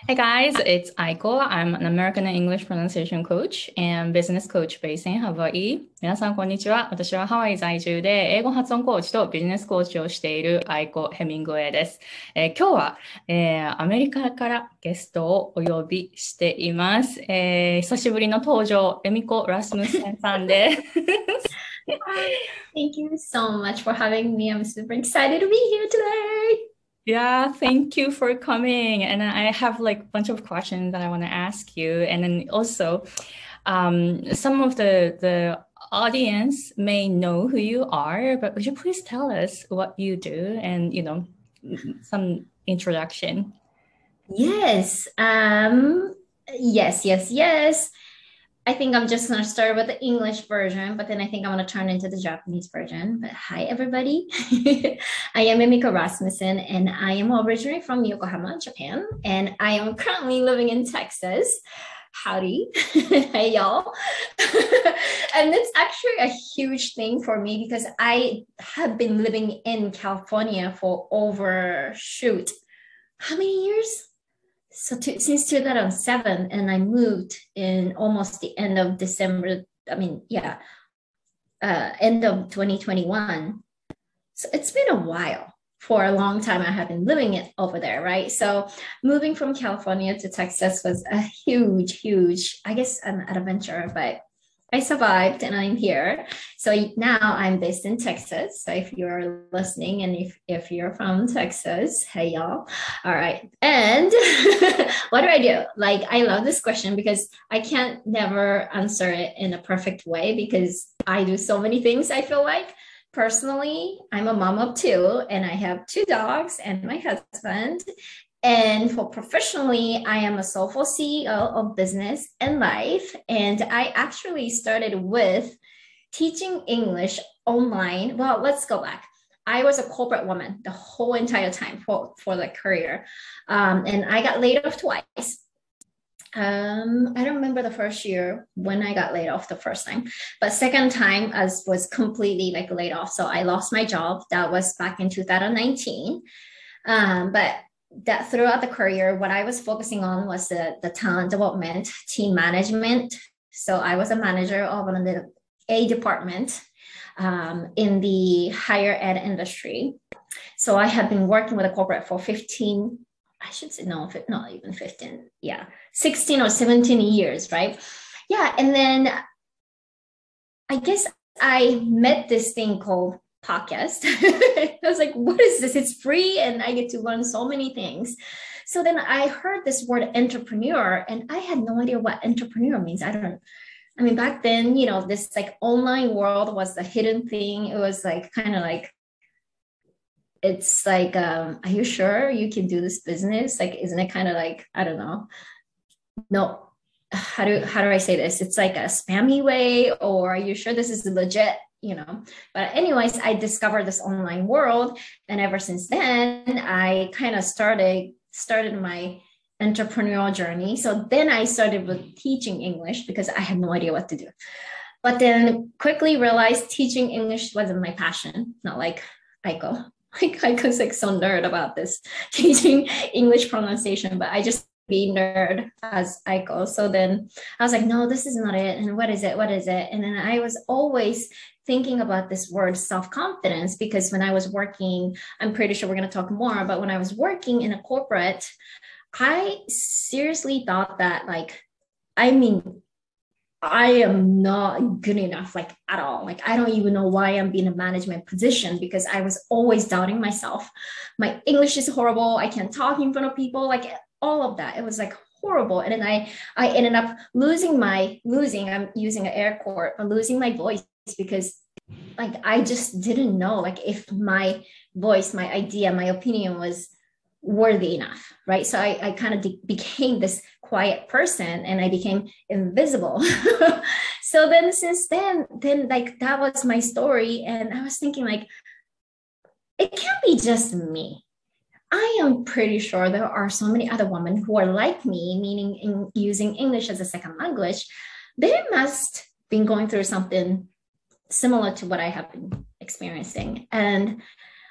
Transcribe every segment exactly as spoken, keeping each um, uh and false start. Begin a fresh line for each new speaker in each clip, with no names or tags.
Hey guys, it's Aiko. I'm an American English pronunciation coach and business coach based in Hawaii. 皆さん、こんにちは。私はハワイ在住で英語発音コーチとビジネスコーチをしているアイコ・ヘミングウェイです。えー今日は、えーアメリカからゲストをお呼びしています。えー久しぶりの登場、エミコ・ラスムセンさんです。
Hi, thank you so much for having me. I'm super excited to be here today.
Yeah, thank you for coming. And I have like a bunch of questions that I want to ask you. And then also, um, some of the the audience may know who you are, but would you please tell us what you do and you know some introduction?
Yes, um, yes, yes, yes. I think I'm just gonna start with the English version, but then I think I'm gonna turn into the Japanese version. But hi, everybody. I am Emiko Rasmussen, and I am originally from Yokohama, Japan, and I am currently living in Texas. Howdy. Hey, y'all. And it's actually a huge thing for me because I have been living in California for over, shoot, how many years? So to, since two thousand seven, and I moved in almost the end of December. I mean, yeah, uh, end of twenty twenty-one. So it's been a while. For a long time, I have been living it over there, right? So moving from California to Texas was a huge, huge, I guess, an adventure, but I survived and I'm here. So now I'm based in Texas. So if you're listening and if, if you're from Texas, hey y'all. All right. And what do I do? Like, I love this question because I can't never answer it in a perfect way because I do so many things, I feel like. Personally, I'm a mom of two and I have two dogs and my husband. And for professionally, I am a soulful C E O of business and life. And I actually started with teaching English online. Well, let's go back. I was a corporate woman the whole entire time for, for the career. Um, and I got laid off twice. Um, I don't remember the first year when I got laid off the first time, but second time as was completely like laid off. So I lost my job. That was back in two thousand nineteen. Um, but that throughout the career, what I was focusing on was the, the talent development, team management. So I was a manager of an, a department um, in the higher ed industry. So I have been working with a corporate for fifteen, I should say, no, not even fifteen. Yeah, sixteen or seventeen years, right? Yeah. And then I guess I met this thing called podcast. I was like, what is this? It's free and I get to learn so many things. So then I heard this word entrepreneur and I had no idea what entrepreneur means. I don't, I mean, back then, you know, this like online world was the hidden thing. It was like kind of like, it's like, um, are you sure you can do this business? Like, isn't it kind of like, I don't know, no, how do how do I say this? It's like a spammy way, or are you sure this is legit? You know. But anyways, I discovered this online world, and ever since then, I kind of started started my entrepreneurial journey. So then I started with teaching English because I had no idea what to do. But then quickly realized teaching English wasn't my passion. Not like Aiko. Like Aiko's like so nerd about this teaching English pronunciation, but I just be nerd as Aiko. So then I was like, no, this is not it. And what is it? What is it? And then I was always thinking about this word self-confidence because when I was working, I'm pretty sure we're going to talk more, but when I was working in a corporate, I seriously thought that like, I mean, I am not good enough, like at all. Like, I don't even know why I'm in a management position because I was always doubting myself. My English is horrible. I can't talk in front of people, like all of that. It was like horrible. And then I, I ended up losing my, losing, I'm using an air quote, but losing my voice because like I just didn't know like if my voice, my idea, my opinion was worthy enough, right? So I, I kind of de- became this quiet person and I became invisible. So then since then, then like that was my story. And I was thinking like, it can't be just me. I am pretty sure there are so many other women who are like me, meaning in using English as a second language. They must been going through something similar to what I have been experiencing. And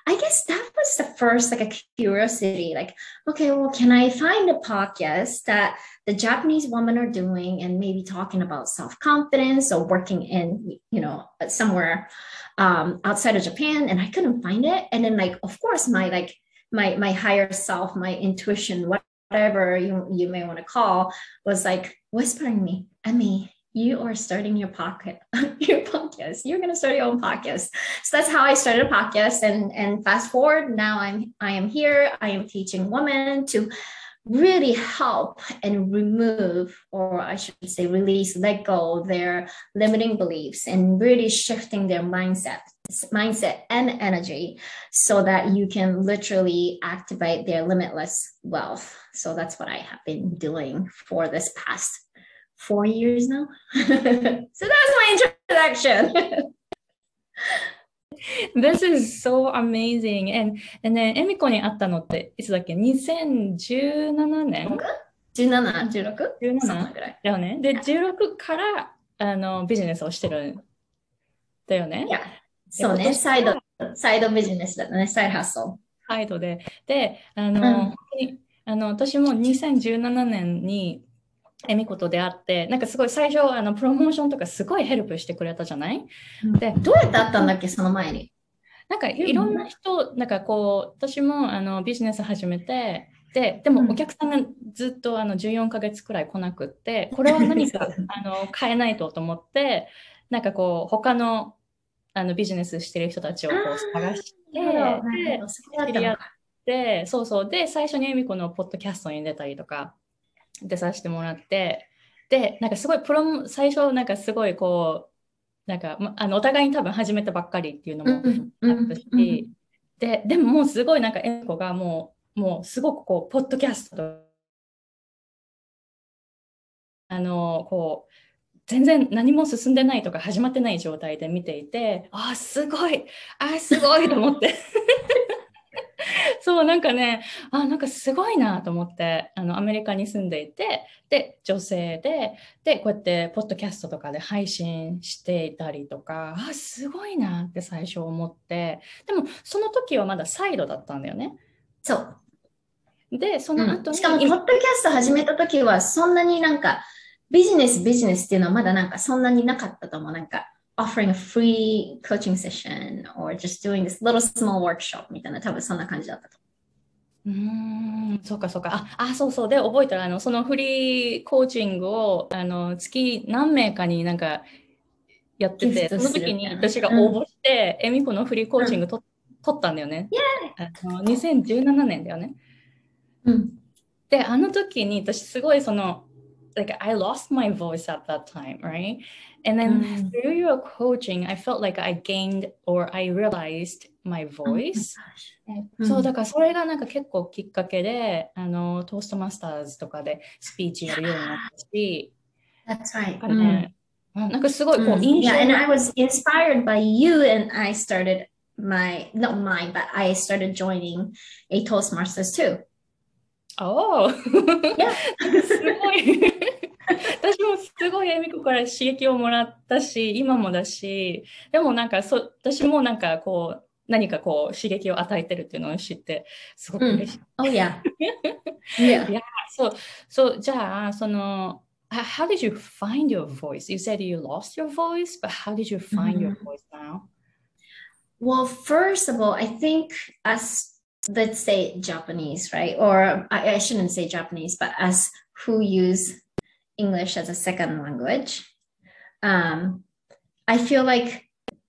I guess that was the first like a curiosity, like, okay, well, can I find a podcast that the Japanese women are doing and maybe talking about self-confidence or working in, you know, somewhere um, outside of Japan, and I couldn't find it. And then like, of course, my like my my higher self, my intuition, whatever you, you may want to call, was like whispering me, Emmy, you are starting your pocket, your podcast. You're gonna start your own podcast. So that's how I started a podcast. And and fast forward, now I'm I am here. I am teaching women to really help and remove, or I should say release, let go their limiting beliefs and really shifting their mindset, mindset and energy so that you can literally activate their limitless wealth. So that's what I have been doing for this past four years now. So that's my introduction.
This is so amazing. And, and ね、エミコに会ったのっていつだっけ ?にせんじゅうななねん
じゅうなな、じゅうろく?
じゅうなな
ぐらい。
だよね。で、じゅうろくからあのビジネスをしてるんだよね。
いや、そうね。サイド、サイドビジネスだったね。サイドハッソル。
サイドで。で、あの、
うん、
本当にあの私もにせんじゅうななねんにエミコと出会って、なんかすごい最初あのプロモーションとかすごいヘルプしてくれたじゃない、
うん、で、どうやって会ったんだっけ、その前に。
なんかいろんな人、なんかこう、私もあのビジネス始めて、で、でもお客さんがずっとあのじゅうよんかげつくらい来なくって、これは何かあの変えないとと思って、なんかこう、他のあのビジネスしてる人たちをこう探して、で、知り合って、そうそう、で、最初にエミコのポッドキャストに出たりとか、出させてもらって、で、なんかすごいプロも、最初なんかすごいこう、なんか、ま、あのお互いに多分始めたばっかりっていうのもあったし、うんうん、で、でももうすごいなんかエミコがもう、もうすごくこう、ポッドキャストと、あの、こう、全然何も進んでないとか始まってない状態で見ていて、あーすごい、あーすごいと思って。そう、なんかね、あ、なんかすごいなと思って、あの、アメリカに住んでいて、で、女性で、で、こうやって、ポッドキャストとかで配信していたりとか、あ、すごいなって最初思って、でも、その時はまだサイドだったんだよね。
そう。
で、その後に、うん、
しかも、ポッドキャスト始めた時は、そんなになんか、ビジネス、ビジネスっていうのはまだなんか、そんなになかったと思う。なんか、offering a free coaching session or just doing this little small workshop みたいな、多分そんな感じだったと。
うーん、そうかそうか。あ、あ、そうそう。で、覚えたら、あの、そのフリーコーチングを、あの、月何名かになんかやってて、その時に私が応募して、エミコのフリーコーチングと、うん、取ったんだよね。あのにせんじゅうななねんだよね。
うん。
で、あの時に私すごいその、like I lost my voice at that time, right? And then mm. through your coaching, I felt like I gained or I realized my voice. Oh my そう、だからそれがなんか結構きっかけで、あの、トーストマスターズとかでスピーチやるようになったし。
That's right.
ね、mm. なんかすごいこう印象、
yeah, and I was inspired by you and I started my, not mine, but I started joining a Toastmasters too.
Oh! Yeah. すごい。私もすごいエミコから刺激をもらったし、今もだし、でもなんかそ私もなんかこう何かこう刺激を与えてるっていうのを知ってすごく嬉しい。
Oh yeah.
Yeah. Yeah. So, so じゃあその how did you find your voice? You said you lost your voice, but how did you find your voice now?
Well, first of all, I think as let's say Japanese, right? Or I, I shouldn't say Japanese, but as who use English as a second language, um, I feel like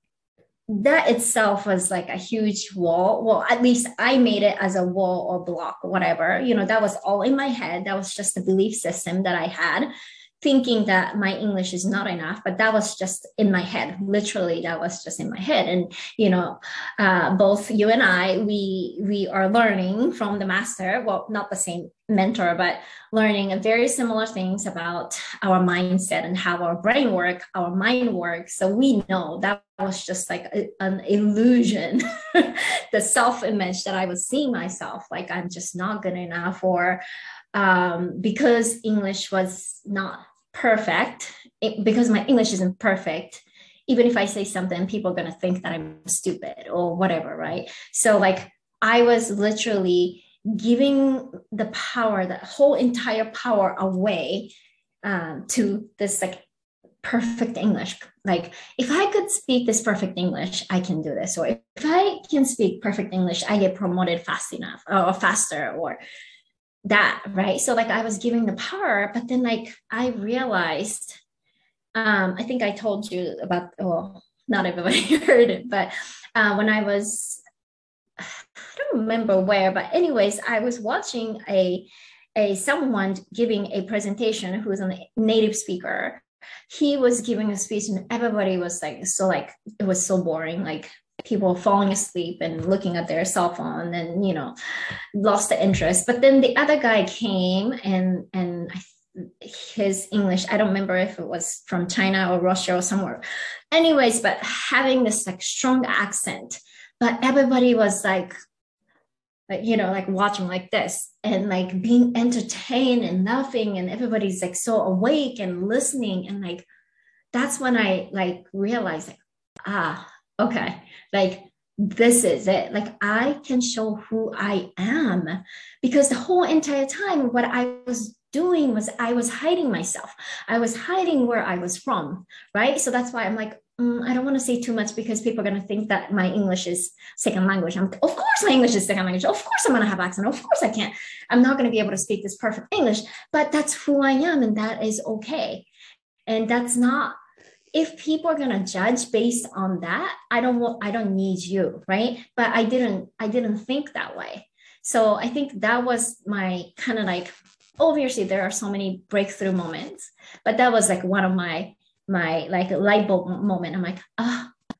that itself was like a huge wall. Well, at least I made it as a wall or block or whatever. You know, that was all in my head. That was just the belief system that I had, thinking that my English is not enough, but that was just in my head. Literally, that was just in my head. And, you know, uh, both you and I, we, we are learning from the master, well, not the same mentor, but learning very similar things about our mindset and how our brain work, our mind works. So we know that was just like a, an illusion, the self-image that I was seeing myself, like I'm just not good enough, or um, because English was not perfect, it, because my English isn't perfect, even if I say something, people are going to think that I'm stupid or whatever, right? So like I was literally giving the power, the whole entire power away um, to this like perfect English. Like if I could speak this perfect English, I can do this. Or if I can speak perfect English, I get promoted fast enough or faster or that, right? So like I was giving the power, but then like I realized, um, I think I told you about, well, not everybody heard it, but uh, when I was, I don't remember where, but anyways, I was watching a, a someone giving a presentation who was a native speaker. He was giving a speech and everybody was like, so like, it was so boring. Like people falling asleep and looking at their cell phone and, you know, lost the interest. But then the other guy came and, and his English, I don't remember if it was from China or Russia or somewhere. Anyways, but having this like strong accent, but everybody was like, like, you know, like watching like this and like being entertained and laughing and everybody's like so awake and listening. And like, that's when I like realized like, ah, okay, like this is it. Like I can show who I am because the whole entire time what I was doing was I was hiding myself. I was hiding where I was from, right? So that's why I'm like, Mm, I don't want to say too much because people are going to think that my English is second language. I'm, of course, my English is second language. Of course, I'm going to have accent. Of course, I can't. I'm not going to be able to speak this perfect English, but that's who I am, and that is okay. And that's not. If people are going to judge based on that, I don't want. I don't need you, right? But I didn't. I didn't think that way. So I think that was my kind of like. Obviously, there are so many breakthrough moments, but that was like one of my. my like light bulb moment. I'm like, ah, oh,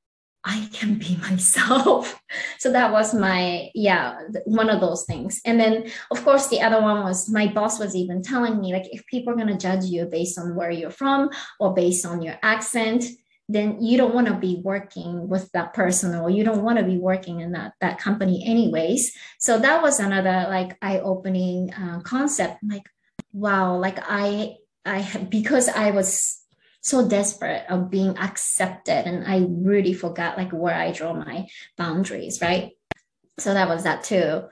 I can be myself. So that was my, yeah, one of those things. And then of course the other one was my boss was even telling me like, if people are going to judge you based on where you're from or based on your accent, then you don't want to be working with that person or you don't want to be working in that, that company anyways. So that was another like eye-opening uh, concept. I'm like, wow, like I, I, because I was so desperate of being accepted and I really forgot like where I draw my boundaries, right? So that was that too.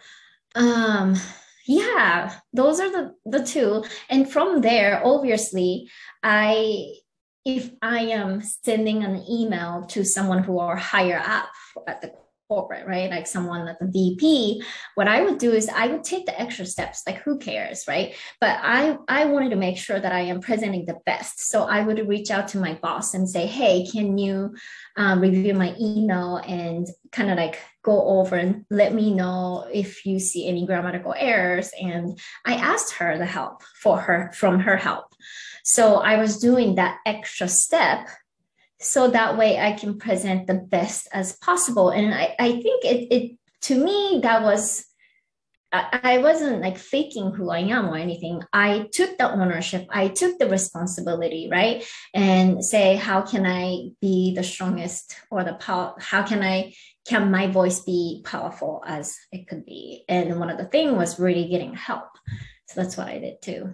Um yeah, those are the the two. And from there, obviously, I if I am sending an email to someone who are higher up at the corporate, right? Like someone at the V P, what I would do is I would take the extra steps, like who cares, right? But I, I wanted to make sure that I am presenting the best. So I would reach out to my boss and say, hey, can you um, review my email and kind of like go over and let me know if you see any grammatical errors. And I asked her the help for her from her help. So I was doing that extra step so that way I can present the best as possible. And I, I think it, it, to me, that was, I, I wasn't like faking who I am or anything. I took the ownership. I took the responsibility, right? And say, how can I be the strongest or the power? How can I, can my voice be powerful as it could be? And one of the things was really getting help. So that's what I did too.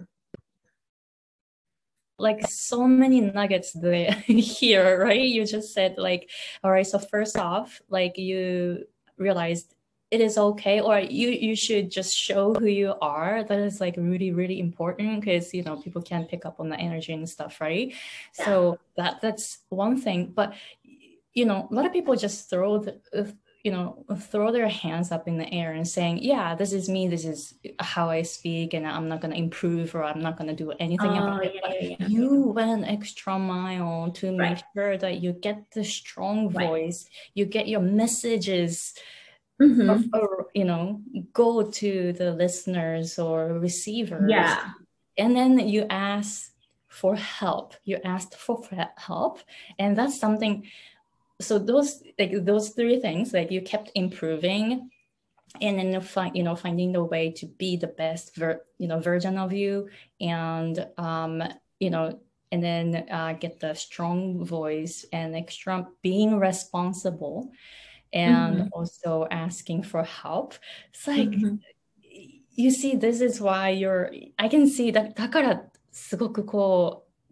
Like so many nuggets there here, right? You just said like, all right, so first off, like you realized it is okay, or you you should just show who you are. That is like really, really important because, you know, people can pick up on the energy and stuff, right? Yeah. So that that's one thing. But, you know, a lot of people just throw the, uh, you know, throw their hands up in the air and saying, yeah, this is me, this is how I speak, and I'm not going to improve or I'm not going to do anything oh, about it. Yeah, but yeah, yeah. You went an extra mile to make right. sure that you get the strong right. voice, you get your messages, mm-hmm. or, or, you know, go to the listeners or receivers.
Yeah.
And then you ask for help. You asked for help. And that's something. So those like those three things, like you kept improving, and then find you know finding the way to be the best ver- you know version of you, and um you know and then uh, get the strong voice and extra being responsible, and mm-hmm. also asking for help. It's like mm-hmm. you see, this is why you're. I can see that. だからすごくこう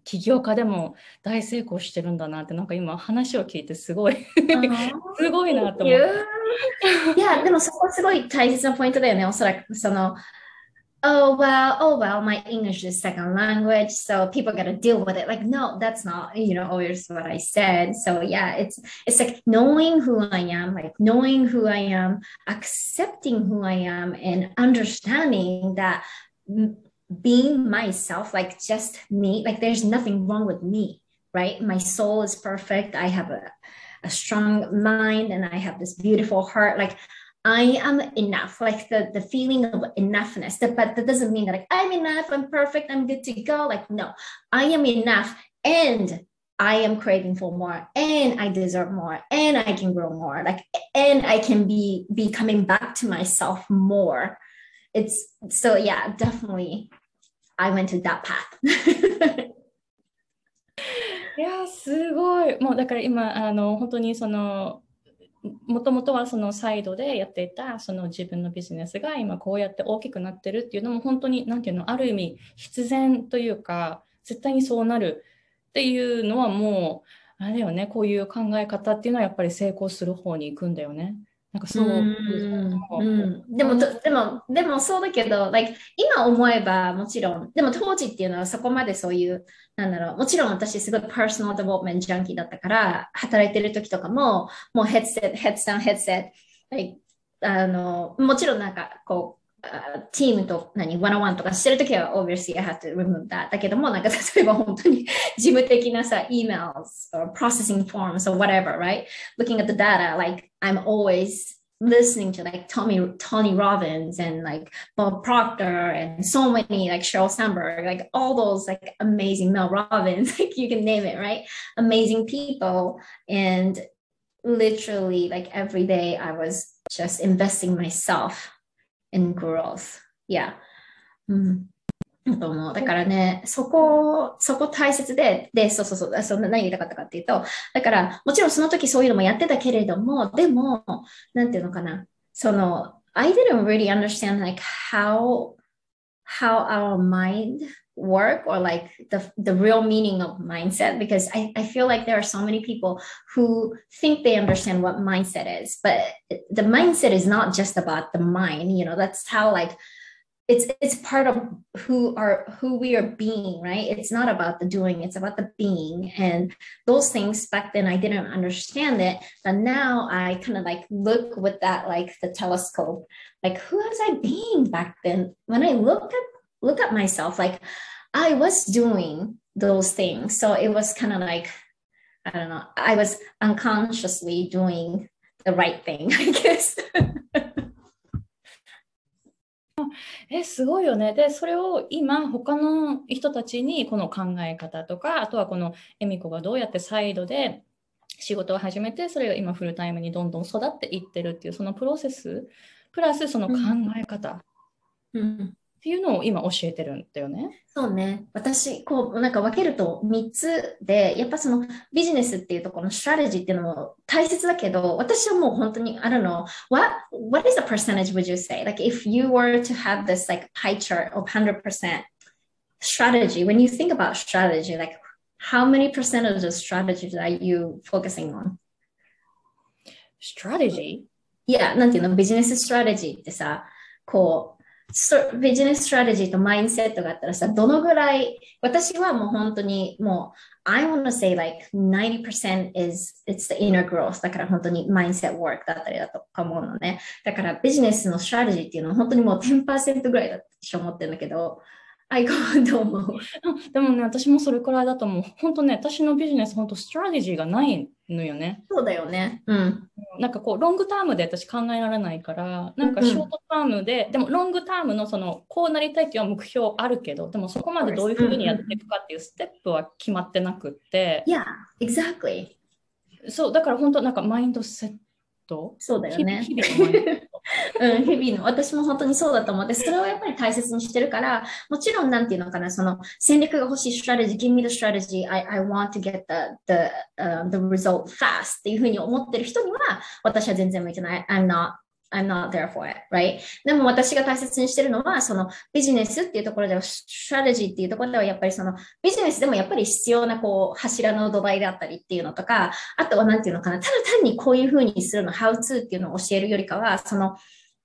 起業家でも大成功してるんだなって、なんか今話を聞いてすごいすごいなと思って。
いや、でもそこすごい大切なポイントだよね。おそらくその、oh well, oh well, my English is second language, so people gotta deal with it. Like, no, that's not, you know, always what I said. So yeah, it's it's like knowing who I am, like knowing who I am, accepting who I am, and understanding that being myself, like just me, like there's nothing wrong with me, right? My soul is perfect. I have a, a strong mind and I have this beautiful heart. Like I am enough, like the, the feeling of enoughness. But that doesn't mean that like I'm enough, I'm perfect, I'm good to go. Like, no, I am enough and I am craving for more and I deserve more and I can grow more. Like, and I can be be coming back to myself more. It's so yeah, definitely I went to that path.
いや、すごい。もうだから今、あの、本当にその、もともとはそのサイドでやっていたその自分のビジネスが今こうやって大きくなってるっていうのも本当になんていうの、ある意味必然というか、絶対にそうなるっていうのはもう、あれだよね、こういう考え方っていうのはやっぱり成功する方に行くんだよね。なんかそう。
うん、でも、でも、でもそうだけど、like、今思えばもちろん、でも当時っていうのはそこまでそういう、なんだろう、もちろん私すごいパーソナルデベロップメントジャンキーだったから、働いてる時とかも、もうヘッドセット、ヘッドダウン、ヘッドセット、like、あの、もちろんなんかこう、チームと何、ワンオンワンとかしてるときは、obviously I have to remove that. だけども、なんか例えば本当に事務的なさ、emails or processing forms or whatever, right? Looking at the data, like I'm always listening to like Tommy, Tony Robbins and like Bob Proctor and so many like Sheryl Sandberg, like all those like amazing Mel Robbins, like you can name it, right? Amazing people. And literally like every day I was just investing myself in growth. Yeah. うん。と思う。だからね、そこ、そこ大切で、で、そうそうそう、そんな何言いたかったかっていうと、だから、もちろんその時そういうのもやってたけれども、でも、なんていうのかな、その、I didn't really understand like how, how our mind work or like the, the real meaning of mindset because I, I feel like there are so many people who think they understand what mindset is, but the mindset is not just about the mind, you know, that's how like it's it's part of who are who we are being, right? It's not about the doing, it's about the being. And those things back then I didn't understand it, but now I kind of like look with that like the telescope, like who was I being back then? When I look at look at myself, like I was doing those things. So it was kind of like, I don't know, I was unconsciously doing the right thing, I guess.
え、すごいよね。で、それを今、他の人たちにこの考え方とか、あとはこの恵美子がどうやってサイドで仕事を始めて、それが今フルタイムにどんどん育っていってるっていう、そのプロセス、プラスその考え方っていうのを今教えてるんだよね。
そうね。私、こう、なんか分けるとみっつで、やっぱそのビジネスっていうところのストラテジーっていうのも大切だけど、私はもう本当に、I don't know, what, what is the percentage would you say? Like if you were to have this like pie chart of one hundred percent strategy, when you think about strategy, like how many percent of the strategies are you focusing on?
Strategy?
Yeah, なんていうの、ビジネスストラテジーってさ、こう、ビジネスストラテジーとマインセットがあったらさ、どのぐらい、私はもう本当にもう、I want to say like ninety percent is, it's the inner growth だから本当にマインセットワークだったりだと思うのね。だからビジネスのストラテジーっていうのは本当にもう じゅっパーセント ぐらいだと思ってるんだけど、あいこどう思う？
でもね、私もそれくらいだと思う。本当ね、私のビジネス、本当ストラテジーがないのよね。
そうだよね。うん。
なんかこう、ロングタームで私考えられないから、なんかショートタームで、うん、でもロングタームのその、こうなりたいっていう目標あるけど、でもそこまでどういうふうにやっていくかっていうステップは決まってなくって。
Yeah, exactly.
そう、だから本当なんかマインドセット。
そうだよね。
日々のマインドセット。
うん、日々の、私も本当にそうだと思って、それをやっぱり大切にしてるから、もちろんなんていうのかな、その戦略が欲しい strategy, give me the strategy, I, I want to get the, the,、uh, the result fast っていうふうに思ってる人には、私は全然向いてない。I'm not, I'm not there for it, right? でも私が大切にしてるのは、そのビジネスっていうところでは、ストラテジーっていうところでは、やっぱりそのビジネスでもやっぱり必要なこう柱の土台であったりっていうのとか、あとはなんていうのかな、ただ単にこういうふうにするの、how to っていうのを教えるよりかは、その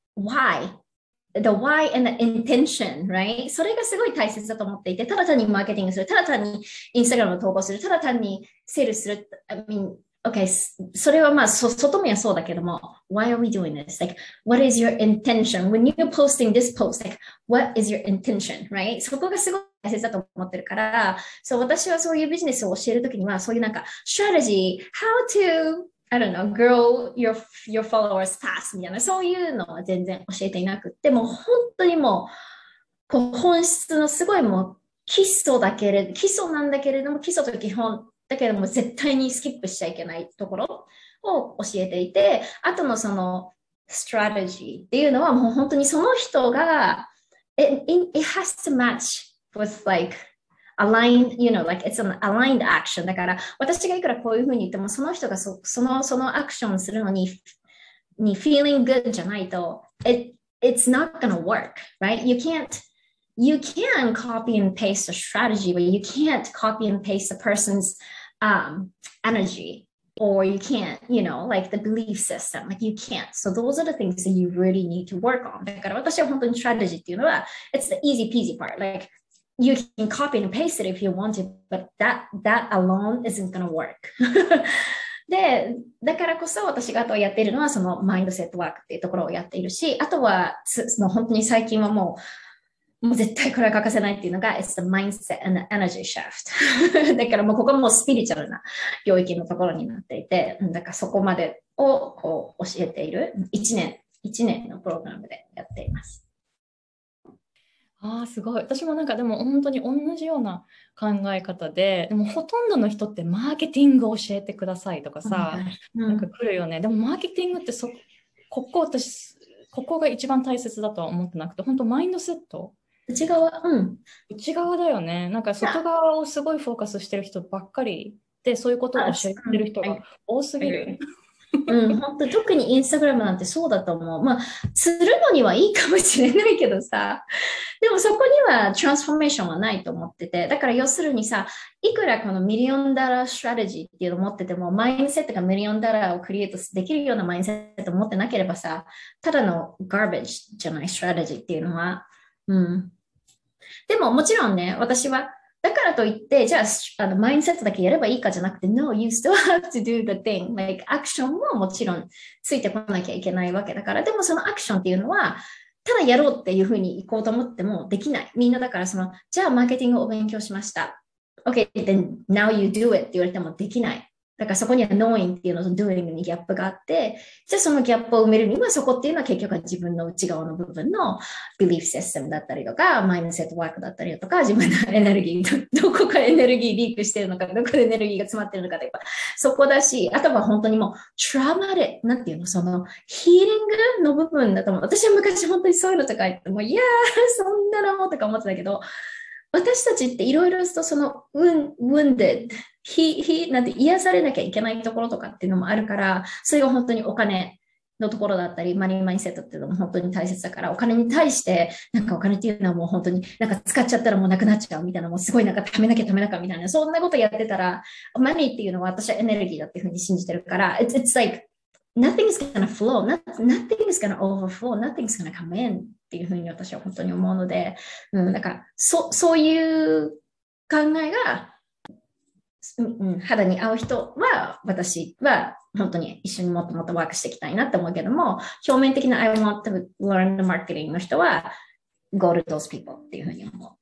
why the why and the intention, right? それがすごい大切だと思っていて、ただ単にマーケティングする、ただ単にインスタグラムを投稿する、ただ単にセールする、I mean, okay, それはまあ、そ外見はそうだけども、why are we doing this? Like, what is your intention? When you're posting this post, like, what is your intention, right? そこがすごい大切だと思ってるから、そう、私はそういうビジネスを教えるときには、そういうなんか、strategy, how to I don't know, grow your, your followers fast みたいな、そういうのは全然教えていなくって、もう本当にもう、こう本質のすごいもう基礎だけれど、基礎なんだけれども、基礎と基本だけども絶対にスキップしちゃいけないところを教えていて、あとのその strategy っていうのはもう本当にその人が、it, it has to match with like aligned, you know, like it's an aligned action. だから、私がいくらこういうふうに言っても、その人がそその、そのアクションするのに、に feeling good じゃないと、it, it's not gonna work, right? You can't, you can copy and paste a strategy, but you can't copy and paste a person's um, energy. Or you can't, you know, like the belief system, like you can't. So those are the things that you really need to work on. だから私は本当に strategy っていうのは、it's the easy peasy part. Like, you can copy and paste it if you want to, but that, that alone isn't going to work. で、だからこそ私があとやっているのはそのマインドセットワークっていうところをやっているし、あとはもう本当に最近はもう、もう絶対これは欠かせないっていうのが It's the mindset and the energy shift だからもうここもスピリチュアルな領域のところになっていて、だからそこまでをこう教えているいちねん、いちねんのプログラムでやっています。
ああ、すごい。私もなんかでも本当に同じような考え方で、でもほとんどの人ってマーケティングを教えてくださいとかさ、
うん、
なんか来るよね。でもマーケティングってそ、ここ私、ここが一番大切だとは思ってなくて、本当マインドセット。
内側、うん。
内側だよね。なんか外側をすごいフォーカスしてる人ばっかりで、そういうことを教えてる人が多すぎる。
うん、本当特にインスタグラムなんてそうだと思う。まあ、するのにはいいかもしれないけどさ、でもそこにはトランスフォーメーションはないと思ってて、だから要するにさ、いくらこのミリオンダラーストラテジーっていうのを持ってても、マインドセットがミリオンダラーをクリエイトできるようなマインドセットを持ってなければさ、ただのガーベージじゃないストラテジーっていうのは、うん。でももちろんね、私は、だからといって、じゃあ、あの、マインドセットだけやればいいかじゃなくて、No, you still have to do the thing. Like, アクションももちろんついてこなきゃいけないわけだから、でもそのアクションっていうのは、ただやろうっていうふうに行こうと思ってもできない。みんなだからその、じゃあマーケティングを勉強しました。Okay, then now you do it って言われてもできない。だからそこには knowing っていうのと doing にギャップがあって、じゃあそのギャップを埋めるにはそこっていうのは結局は自分の内側の部分の belief system だったりとか、マインドセットワークだったりとか、自分のエネルギー、どこかエネルギーリークしてるのか、どこでエネルギーが詰まってるのかとか、そこだし、あとは本当にもう、トラウマで、なんていうの、そのヒーリングの部分だと思う。私は昔本当にそういうのとか言っても、いやー、そんなのもとか思ってたけど、私たちっていろいろとその wounded、ひ、ひ、なんて癒されなきゃいけないところとかっていうのもあるから、それが本当にお金のところだったり、マニーマインセットっていうのも本当に大切だから、お金に対して、なんかお金っていうのはもう本当になんか使っちゃったらもうなくなっちゃうみたいな、もうすごいなんか貯めなきゃ貯めなきゃみたいな、そんなことやってたら、マニーっていうのは私はエネルギーだっていうふうに信じてるから、it's, it's like nothing's gonna flow, nothing's gonna overflow, nothing's gonna come in っていうふうに私は本当に思うので、うん、だからそ、そういう考えが、うん、肌に合う人は私は本当に一緒にもっともっとワークしていきたいなって思うけども、表面的な I want to learn the marketing の人は go to those people っていうふうに思う。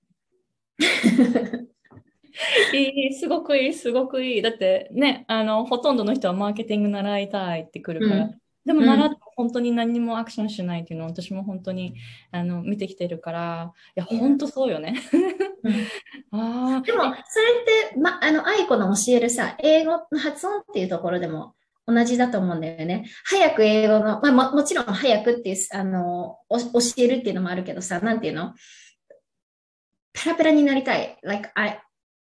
いい、すごくいい、すごくいい。だってね、あの、ほとんどの人はマーケティング習いたいってくるから。うん、でも習って本当に何もアクションしないっていうのを私も本当にあの見てきてるから、いや、本当そうよね。
うんあでも、それって、ま、あの、愛子の教えるさ、英語の発音っていうところでも同じだと思うんだよね。早く英語の、まあ、ももちろん早くっていう、あの、教えるっていうのもあるけどさ、なんていうのペラペラになりたい。like, I,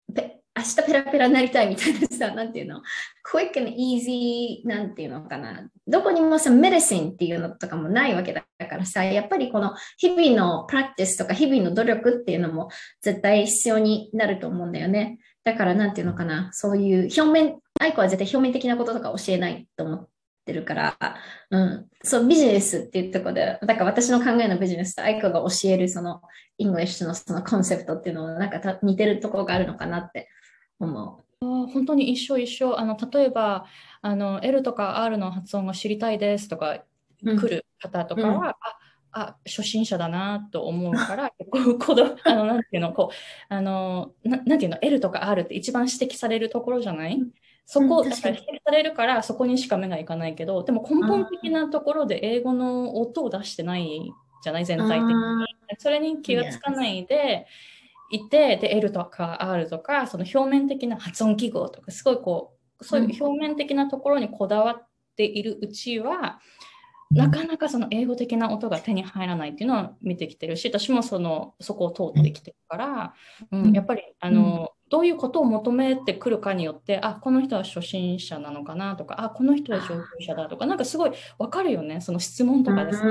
明日ペラペラになりたいみたいなさ、なんていうの ?quick and easy なんていうのかな。どこにもさ、メディシンっていうのとかもないわけだからさ、やっぱりこの日々のプラクティスとか日々の努力っていうのも絶対必要になると思うんだよね。だからなんていうのかな。そういう表面、アイコは絶対表面的なこととか教えないと思ってるから、うん。そう、ビジネスっていうところで、だから私の考えのビジネスとアイコが教えるその、イングリッシュのそのコンセプトっていうのはなんか似てるところがあるのかなって思
あー本当に一緒一緒。あの、例えば、あの、L とか R の発音が知りたいですとか
う。うん。
来る方と
うん。
かは、あ、あ、初心者だなと思うから、こう、この、あの、なんていうの、こう、あの、な、なんていうの、L とか R って一番指摘されるところじゃないそ
うん、
こ、だ
確かに。
から指摘されるから、そこにしか目がいかないけど、でも根本的
あ
なところで英語の音を出してないじゃない、全体的に。
あ、
それに気がつかな
yes。
いで、いて、で、L とか R とか、その表面的な発音記号とか、すごいこう、そういう表面的なところにこだわっているうちは、なかなかその英語的な音が手に入らないっていうのは見てきてるし、私もその、そこを通ってきてるから、うん、やっぱり、あの、どういうことを求めてくるかによって、あ、この人は初心者なのかなとか、あ、この人は上級者だとか、なんかすごいわかるよね、その質問とかです。
うん、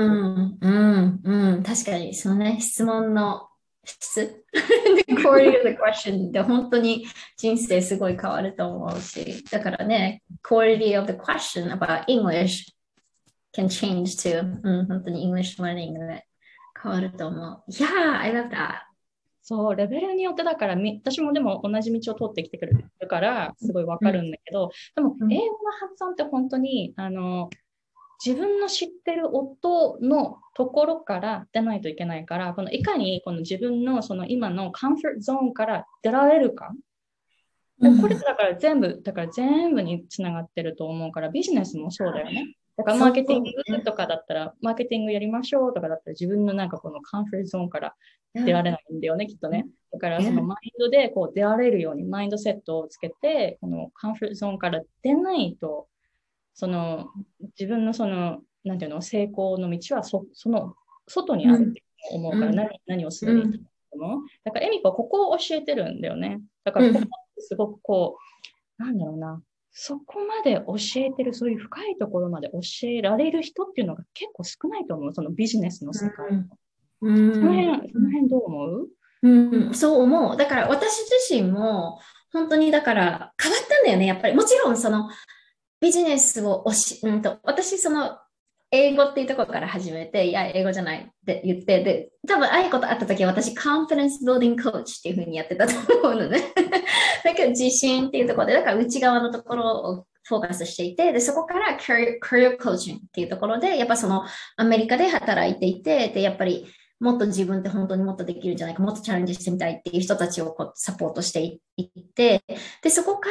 うん、うん、確かに、そのね、質問の質 the quality of the question で本当に人生すごい変わると思うし、だからね、quality of the question about English can change too. うん、本当に English learning で変わると思う。Yeah, I love that.
そう、レベルによってだからみ、私もでも同じ道を通ってきてくるから、すごいわかるんだけど、でも、英語の発音って本当に、あの、自分の知ってる音のところから出ないといけないから、このいかにこの自分のその今のカンフォートゾーンから出られるか。でこれだから全部、だから全部につながってると思うから、ビジネスもそうだよね。だからマーケティングとかだったら、マーケティングやりましょうとかだったら、自分のなんかこのカンフォートゾーンから出られないんだよね、きっとね。だからそのマインドでこう出られるように、マインドセットをつけて、このカンフォートゾーンから出ないと、その自分のその、なんていうの、成功の道はそその外にあるって思うから、何何をするにいいと思う。だから、エミコはここを教えてるんだよね。だから、ここってすごくこう、なんだろうな、そこまで教えてる、そういう深いところまで教えられる人っていうのが結構少ないと思う、そのビジネスの世界。うん、その辺、その辺どう思う？
うん、そう思う。だから私自身も本当にだから変わったんだよね、やっぱり。もちろんそのビジネスをおし、うんと、私その英語っていうところから始めて、いや、英語じゃないって言って、で、多分、ああいうことあった時は私、カンフィデンスビルディングコーチっていうふうにやってたと思うのね。だけど、自信っていうところで、だから内側のところをフォーカスしていて、で、そこからキャリアコーチングっていうところで、やっぱそのアメリカで働いていて、で、やっぱりもっと自分って本当にもっとできるんじゃないか、もっとチャレンジしてみたいっていう人たちをこうサポートしていって、で、そこから、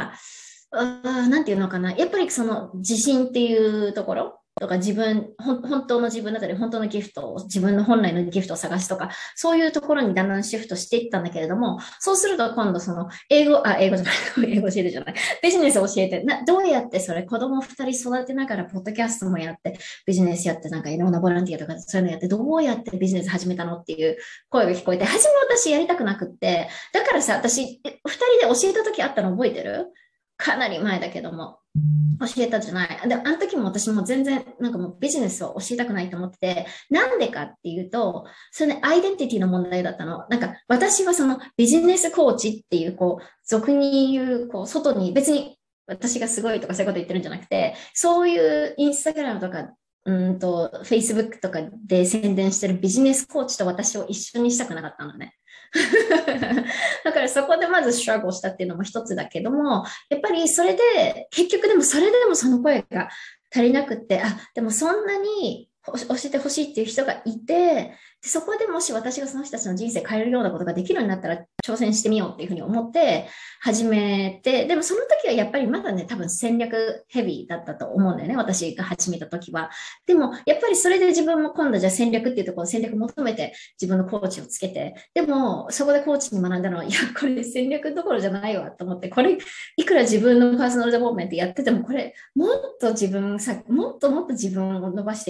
あなんていうのかな。やっぱりその自信っていうところとか自分、本当の自分だったり、本当のギフトを、自分の本来のギフトを探すとか、そういうところにだんだんシフトしていったんだけれども、そうすると今度その英語、あ、英語じゃない、英語教えてじゃない、ビジネスを教えて、などうやってそれ子供二人育てながら、ポッドキャストもやって、ビジネスやって、なんかいろんなボランティアとかそういうのやって、どうやってビジネス始めたのっていう声が聞こえて、初め私やりたくなくって、だからさ、私、二人で教えた時あったの覚えてる？かなり前だけども、教えたじゃない。で、あの時も私も全然、なんかもうビジネスを教えたくないと思ってて、なんでかっていうと、それね、アイデンティティの問題だったの。なんか、私はそのビジネスコーチっていう、こう、俗に言う、こう、外に、別に私がすごいとかそういうこと言ってるんじゃなくて、そういうインスタグラムとか、うんと、Facebook とかで宣伝してるビジネスコーチと私を一緒にしたくなかったのね。だからそこでまずストラゴしたっていうのも一つだけども、やっぱりそれで、結局でもそれでもその声が足りなくって、あ、でもそんなに教えてほしいっていう人がいて、でそこでもし私がその人たちの人生変えるようなことができるようになったら挑戦してみようっていうふうに思って始めて、でもその時はやっぱりまだね、多分戦略ヘビーだったと思うんだよね、私が始めた時は。でもやっぱりそれで自分も今度じゃあ戦略っていうところ戦略求めて自分のコーチをつけて、でもそこでコーチに学んだのは、いや、これ戦略どころじゃないわと思って、これいくら自分のパーソナルデベロップメントやってても、これもっと自分さ、もっともっと自分を伸ばしていかない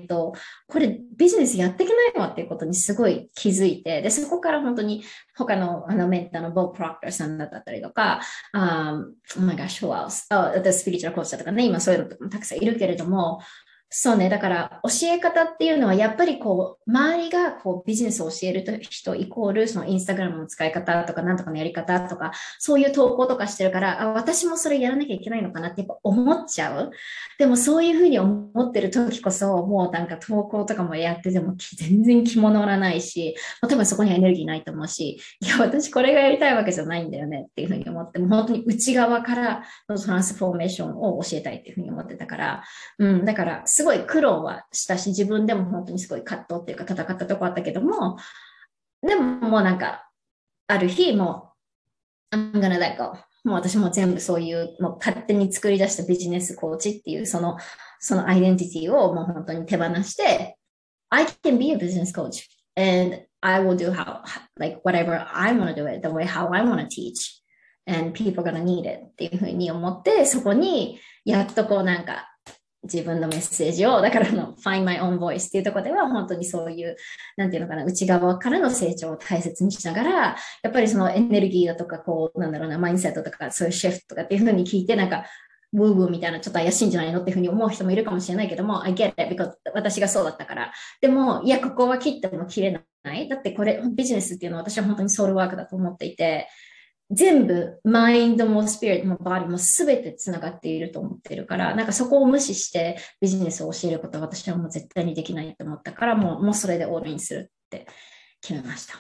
ないと、これビジネスやっていけないわっていうことにすごい気づいて、で、そこから本当に他のあのメンターのボブ・プロクターさんだったりとか、um, oh my gosh, who else? あ、私スピリチュアルコーチだとかね、今そういうのとかもたくさんいるけれども、そうね。だから、教え方っていうのは、やっぱりこう、周りがこう、ビジネスを教える人イコール、そのインスタグラムの使い方とか、なんとかのやり方とか、そういう投稿とかしてるから、あ、私もそれやらなきゃいけないのかなってやっぱ思っちゃう。でも、そういうふうに思ってる時こそ、もうなんか投稿とかもやってても、全然気も乗らないし、多分そこにはエネルギーないと思うし、いや、私これがやりたいわけじゃないんだよねっていうふうに思って、もう本当に内側からのトランスフォーメーションを教えたいっていうふうに思ってたから、うん、だから、すごい苦労はしたし、自分でも本当にすごい葛藤っていうか戦ったとこあったけども、でももうなんか、ある日、もう、I'm gonna let go。もう私も全部そういう、もう勝手に作り出したビジネスコーチっていう、その、そのアイデンティティをもう本当に手放して、I can be a business coach and I will do how, like whatever I want to do it, the way how I want to teach. And people are gonna need it っていうふうに思って、そこにやっとこうなんか自分のメッセージを、だからの Find My Own Voice っていうところでは本当にそういう、なんていうのかな、内側からの成長を大切にしながら、やっぱりそのエネルギーだとか、こう、なんだろうな、マインセットとか、そういうシフトとかっていうふうに聞いて、なんか、ウーウーみたいなちょっと怪しいんじゃないのっていうふうに思う人もいるかもしれないけども、I get it because 私がそうだったから。でも、いや、ここは切っても切れない。だってこれ、ビジネスっていうのは私は本当にソウルワークだと思っていて、全部、マインドもスピリットもバディもすべてつながっていると思っているから、なんかそこを無視してビジネスを教えることは私はもう絶対にできないと思ったから、もうもうそれでオールインするって決めました。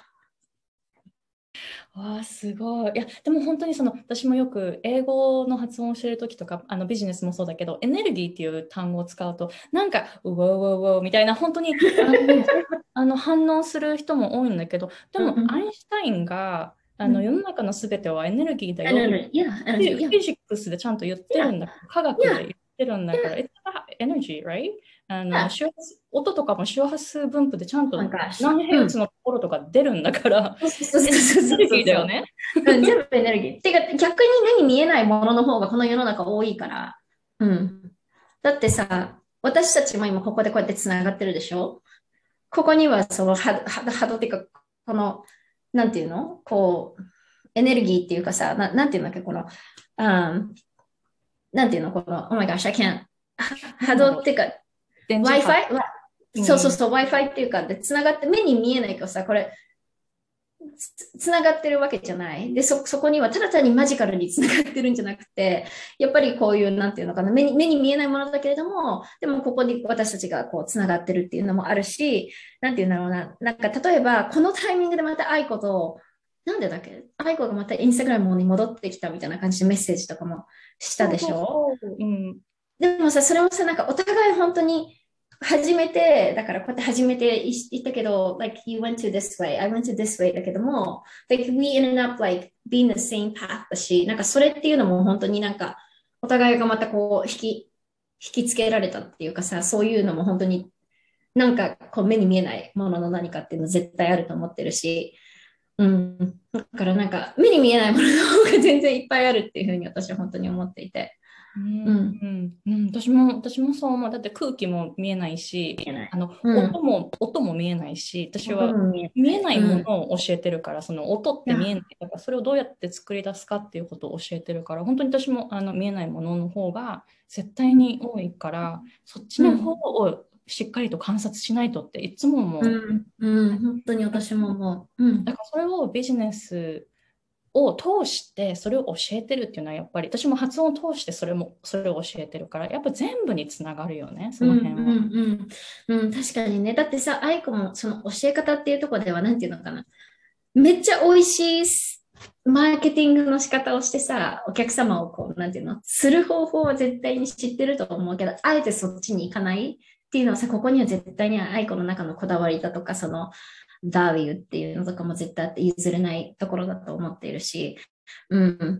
わあ、すごい。いや、でも本当にその、私もよく英語の発音を教えるときとか、あのビジネスもそうだけど、エネルギーっていう単語を使うと、なんか、ウォーウォーウォーみたいな、本当にあのあの反応する人も多いんだけど、でも、アインシュタインが、あの世の中のすべてはエネルギーだよって、フィジックスでちゃんと言ってるんだ、科学で言ってるんだから、It's energy, right? あの周波数音とかも周波数分布でちゃんと何ヘルツのところとか出るんだから、エネルギーだよね。
全部エネルギー。てか逆に目に見えないものの方がこの世の中多いから。うん。だってさ、私たちも今ここでこうやってつながってるでしょ。ここにはその波動っていうか、この、なんていうのこう、エネルギーっていうかさ、ななんていうんだっけ、この、um, なんていうのこの、Oh my gosh, I can't. 波動っていうか、Wi-Fi? そうそうそう、Wi-Fi っていうか、で、つながって、目に見えないけどさ、これ、つ、つながってるわけじゃない。で、そ、そこにはただ単にマジカルにつながってるんじゃなくて、やっぱりこういう、なんていうのかな、目に、目に見えないものだけれども、でもここに私たちがこう、つながってるっていうのもあるし、なんていうんだろうな、なんか例えば、このタイミングでまた愛子と、なんでだっけ愛子がまたインスタグラムに戻ってきたみたいな感じでメッセージとかもしたでしょ。うん、でもさ、それもさ、なんかお互い本当に、初めて、だからこうやって初めて言ったけど、like you went to this way, I went to this way だけども、like we ended up like being the same path だし、なんかそれっていうのも本当になんかお互いがまたこう引き、引きつけられたっていうかさ、そういうのも本当になんかこう目に見えないものの何かっていうの絶対あると思ってるし、うん。だからなんか目に見えないものの方が全然いっぱいあるっていうふうに私は本当に思っていて。
うんうんうん、私も私もそう思う。だって空気も見えないし、あの、うん、音も音も見えないし、私は見えないものを教えてるから、うん、その音って見えないから、それをどうやって作り出すかっていうことを教えてるから、本当に私もあの見えないものの方が絶対に多いから、そっちの方をしっかりと観察しないとっていつも思う。
うんうん、本当に私も思う。うん、
だからそれをビジネスを通してそれを教えてるっていうのはやっぱり私も発音を通してそれもそれを教えてるからやっぱ全部につながるよね、その辺は。うん
うんうんうん、確かにね。だってさ、愛子もその教え方っていうところではなんていうのかな、めっちゃ美味しいマーケティングの仕方をしてさ、お客様をこうなんていうのする方法は絶対に知ってると思うけど、あえてそっちに行かないっていうのはさ、ここには絶対に愛子の中のこだわりだとかそのバリューっていうのとかも絶対譲れないところだと思っているし、うん。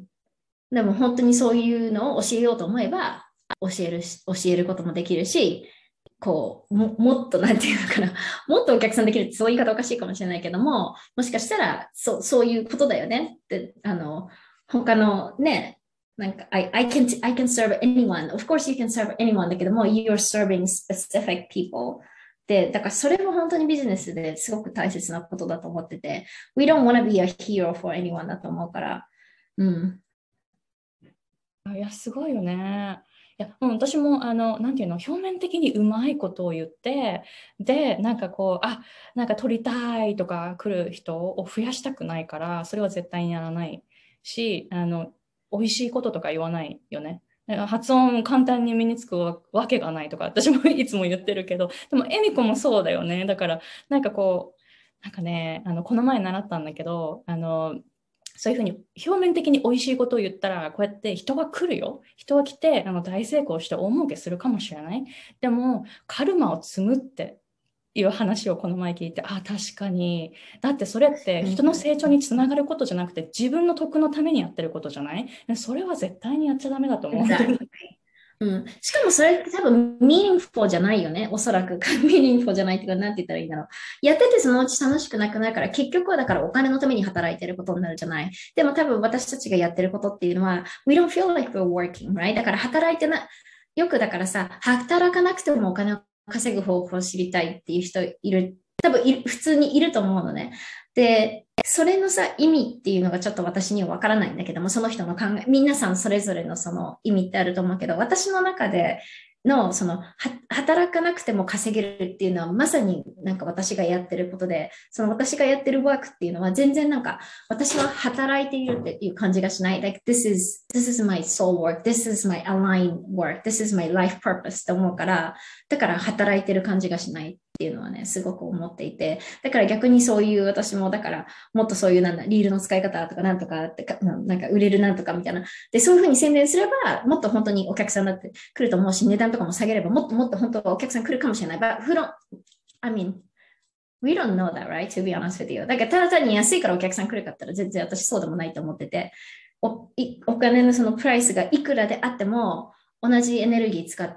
でも本当にそういうのを教えようと思えば、教えるし、教えることもできるし、こう、も、もっとなんていうのかな、もっとお客さんできるってそういう言い方おかしいかもしれないけども、もしかしたら、そう、そういうことだよねって、あの、他のね、なんか、I, I can, I can serve anyone. Of course you can serve anyone だけども、you're serving specific people. で、だからそれも本当にビジネスですごく大切なことだと思ってて、We don't want to be a hero for anyone だと思うから、うん。
いや、すごいよね。いや、もう私も、あの、なんていうの、表面的にうまいことを言って、で、なんかこう、あ、なんか取りたいとか来る人を増やしたくないから、それは絶対にやらないし、あの、美味しいこととか言わないよね。発音簡単に身につくわけがないとか、私もいつも言ってるけど、でも、エミコもそうだよね。だから、なんかこう、なんかね、あの、この前習ったんだけど、あの、そういうふうに表面的に美味しいことを言ったら、こうやって人が来るよ。人が来て、あの大成功して大儲けするかもしれない。でも、カルマを積むっていう話をこの前聞いて、あ、確かに。だってそれって人の成長につながることじゃなくて、自分の得のためにやってることじゃない？それは絶対にやっちゃダメだと思う。
Exactly. うん、しかもそれ多分 meaningful じゃないよね。おそらく meaningful じゃないっていうか、なんて言ったらいいんだろう。やっててそのうち楽しくなくなるから、結局はだからお金のために働いてることになるじゃない。でも多分私たちがやってることっていうのは、we don't feel like we're working, right? だから働いてな、よくだからさ、働かなくてもお金を稼ぐ方法を知りたいっていう人いる。多分い普通にいると思うのね。で、それのさ、意味っていうのがちょっと私にはわからないんだけども、その人の考え、皆さんそれぞれのその意味ってあると思うけど、私の中での、その、は働かなくても稼げるっていうのは、まさになんか私がやってることで、その私がやってるワークっていうのは、全然なんか、私は働いているっていう感じがしない。Like, this is, this is my soul work, this is my aligned work, this is my life purpose って思うから、だから働いてる感じがしないっていうのはね、すごく思っていて、だから逆にそういう私も、だからもっとそういうなんだ、リールの使い方とかなんとかってか、なんか売れるなんとかみたいな。で、そういうふうに宣伝すれば、もっと本当にお客さんだって来ると思うし、値段とかも下げれば、もっともっと本当はお客さん来るかもしれない。But who don't, I mean, we don't know that, right? To be honest with you. だからただ単に安いからお客さん来るかったら全然私そうでもないと思ってて、おお金のそのプライスがいくらであっても、同じエネルギー使って、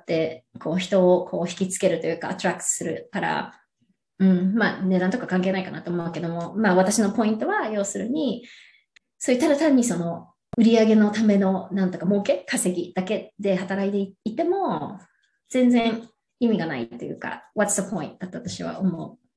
こう人をこう引きつけるというか、アトラクトするから、うん、まあ値段とか関係ないかなと思うけども、まあ私のポイントは、要するに、そういうただ単にその売上のためのなんとか儲け、稼ぎだけで働いていても、全然意味がないというか、what's the point だと私は思う。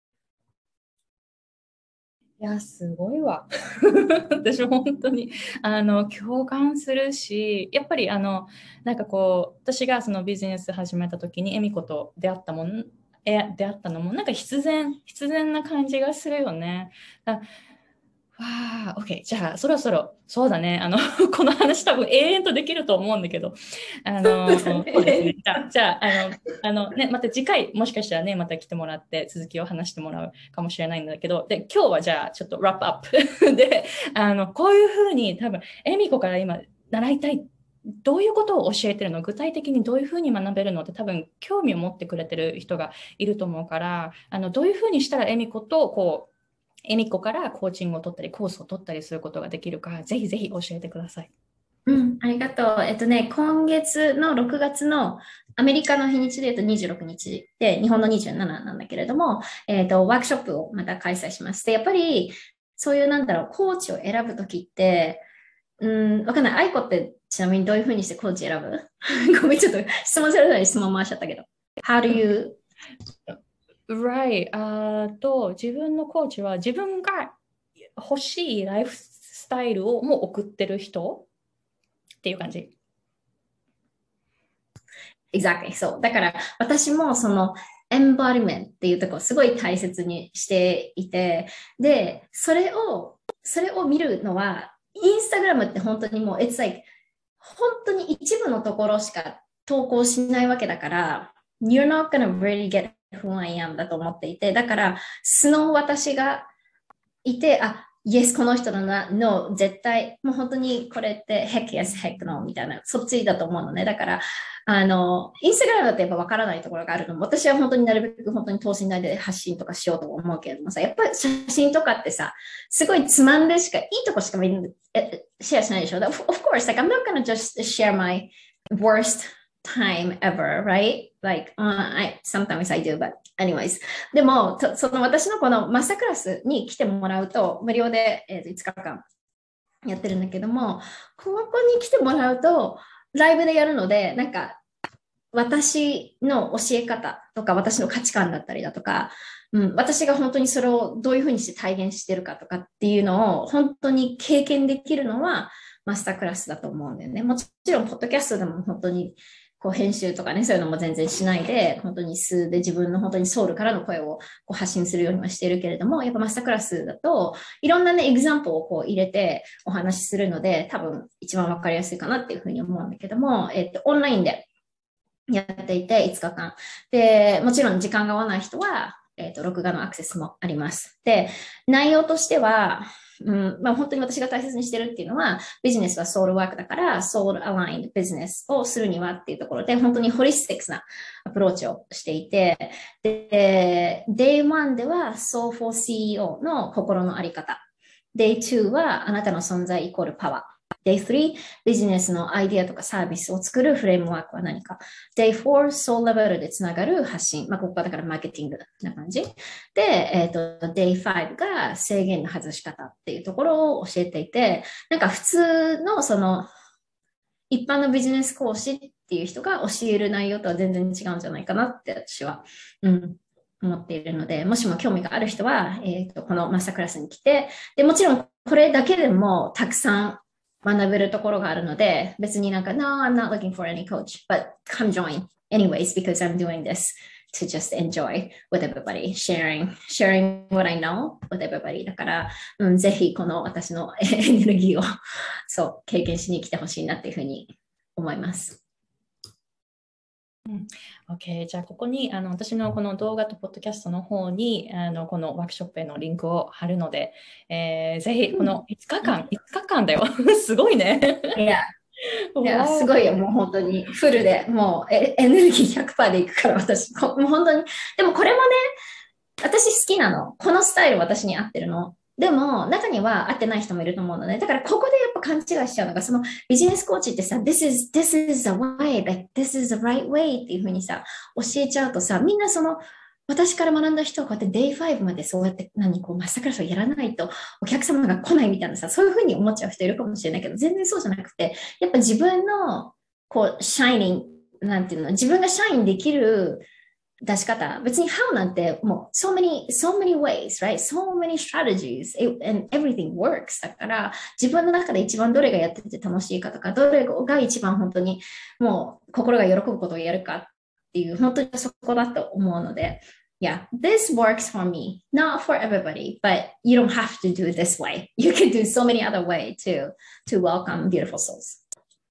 いや、すごいわ。私も本当に、あの、共感するし、やっぱり、あの、なんかこう、私がそのビジネス始めた時に、恵美子と出会ったもん、え、出会ったのも、なんか必然、必然な感じがするよね。だわあ、OK。じゃあ、そろそろ、そうだね。あの、この話多分永遠とできると思うんだけど、あの、そうですね。じゃあ、じゃあ、あの、あのね、また次回、もしかしたらね、また来てもらって続きを話してもらうかもしれないんだけど、で、今日はじゃあ、ちょっとラップアップで、あの、こういうふうに多分、エミコから今、習いたい。どういうことを教えてるの？具体的にどういうふうに学べるのって多分興味を持ってくれてる人がいると思うから、あの、どういうふうにしたらエミコとこう、エミコからコーチングを取ったり、コースを取ったりすることができるか、ぜひぜひ教えてください。
うん、ありがとう。えっとね、今月のろくがつのアメリカの日にちで言うとにじゅうろくにちで、日本のにじゅうしちなんだけれども、えっと、ワークショップをまた開催します。で、やっぱり、そういうなんだろう、コーチを選ぶときって、うん、わかんない。アイコってちなみにどういうふうにしてコーチ選ぶ？ごめん、ちょっと質問されたら質問回しちゃったけど。How do you
Right. あと、自分のコーチは自分が欲しいライフスタイルをもう送ってる人っていう感じ。
Exactly. そう。だから私もそのエンバリメントっていうところをすごい大切にしていて、で、それを、それを見るのは、インスタグラムって本当にもう、it's like 本当に一部のところしか投稿しないわけだから、You're not gonna really get who I am だと思っていて、だから素の私がいて、あ、Yes この人だな、No 絶対、もう本当にこれって Heck yes, Heck no みたいな、そっちだと思うのね。だから、あの、インスタグラムだとやっぱ分からないところがあるのも、私は本当になるべく本当に等身大で発信とかしようと思うけれどもさ、やっぱり写真とかってさ、すごいつまんでしか、いいとこしかみんなシェアしないでしょ。Of course, like I'm not gonna just share my worst time ever, right? Like, uh, I, sometimes I do, but anyways. でも、その私のこのマスタークラスに来てもらうと、無料で、えー、といつかかんやってるんだけども、ここに来てもらうと、ライブでやるので、なんか、 私の教え方とか、私の価値観だったりだとか、うん、私が本当にそれをどういうふうにして体現してるかとかっていうのを本当に経験できるのはマスタークラスだと思うんだよね。もちろん、ポッドキャストでも本当にこう編集とかね、そういうのも全然しないで、本当に素で自分の本当にソウルからの声をこう発信するようにはしているけれども、やっぱマスタークラスだと、いろんなね、エグザンプルをこう入れてお話しするので、多分一番わかりやすいかなっていうふうに思うんだけども、えっと、オンラインでやっていていつかかん。で、もちろん時間が合わない人は、えっと、録画のアクセスもあります。で、内容としては、うんまあ、本当に私が大切にしてるっていうのは、ビジネスはソウルワークだから、ソウルアラインドビジネスをするにはっていうところで、本当にホリスティックスなアプローチをしていて、で、デイワンでは ソウ フォー シーイーオー の心のあり方。デイツーはあなたの存在イコールパワー。デイスリー、ビジネスのアイディアとかサービスを作るフレームワークは何か。デイフォー、ソウルレベルでつながる発信。まあ、ここはだからマーケティングな感じ。で、えっ、ー、と、デイファイブが制限の外し方っていうところを教えていて、なんか普通のその、一般のビジネス講師っていう人が教える内容とは全然違うんじゃないかなって私は、うん、思っているので、もしも興味がある人は、えっ、ー、と、このマスタークラスに来て、で、もちろんこれだけでもたくさん学べるところがあるので、別になんか、No, I'm not looking for any coach, but come join anyways because I'm doing this to just enjoy with everybody, sharing, sharing what I know with everybody. だから、うん、ぜひこの私のエネルギーをそう、経験しに来てほしいなっていうふうに思います。
うん、OK。じゃあ、ここにあの私のこの動画とポッドキャストの方にあのこのワークショップへのリンクを貼るので、えー、ぜひこのいつかかん、いつかかんだよ。すごいね。
いや、いやすごいよ、もう本当にフルで、もうエネルギー ひゃくパーセント でいくから、私、もう本当に。でもこれもね、私好きなの。このスタイル私に合ってるの。でも、中には合ってない人もいると思うので、だからここでやっぱ勘違いしちゃうのが、そのビジネスコーチってさ、this is, this is the way, like, this is the right way っていうふうにさ、教えちゃうとさ、みんなその、私から学んだ人はこうやって デイファイブ までそうやって何こうマスタークラスをやらないとお客様が来ないみたいなさ、そういうふうに思っちゃう人いるかもしれないけど、全然そうじゃなくて、やっぱ自分のこう、シャイニング、なんていうの、自分がシャインできる出し方。別に how なんてもう so many, so many ways, right? So many strategies and everything works. だから自分の中で一番どれがやってて楽しいかとか、どれが一番本当にもう心が喜ぶことをやるかっていう、本当にそこだと思うので、Yeah, this works for me, not for everybody, but you don't have to do it this way. You can do so many other ways to, to welcome beautiful souls.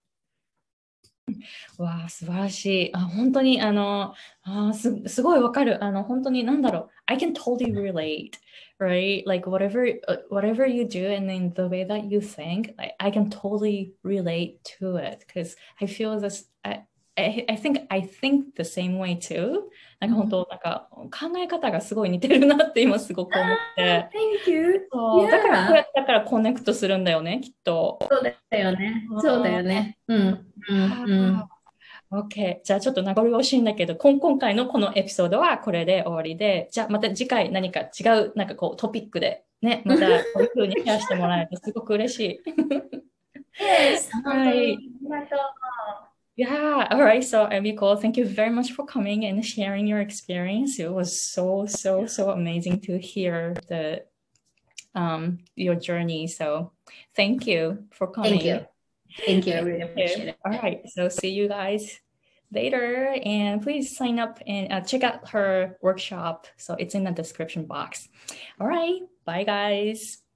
わあ、素晴らしい。あ、本当に、あの、あす、すごいわかる。あの、本当に、なんだろう。I can totally relate, right? Like, whatever, whatever you do and in the way that you think, I, I can totally relate to it because I feel this, I, I, I think, I think the same way too. なんか本当、なんか考え方がすごい似てるなって今すごく思って。
Thank you.
そう、だからこうやったからコネクトするんだよね、きっと。
そうだよね。そうだよね。うん。うん。うん。
OK。じゃあちょっと名残惜しいんだけど、今今回のこのエピソードはこれで終わりで、じゃあまた次回何か違うなんかこうトピックでね、またこういう風にシェアしてもらえるとすごく嬉しい。
Yes.
はい。Yeah, all right. So, Emiko, thank you very much for coming and sharing your experience. It was so, so, so amazing to hear the um your journey. So, thank you for coming.
Thank you. Thank you. I really appreciate it.
All right. So, see you guys later. And please sign up and uh, check out her workshop. So, it's in the description box. All right. Bye, guys.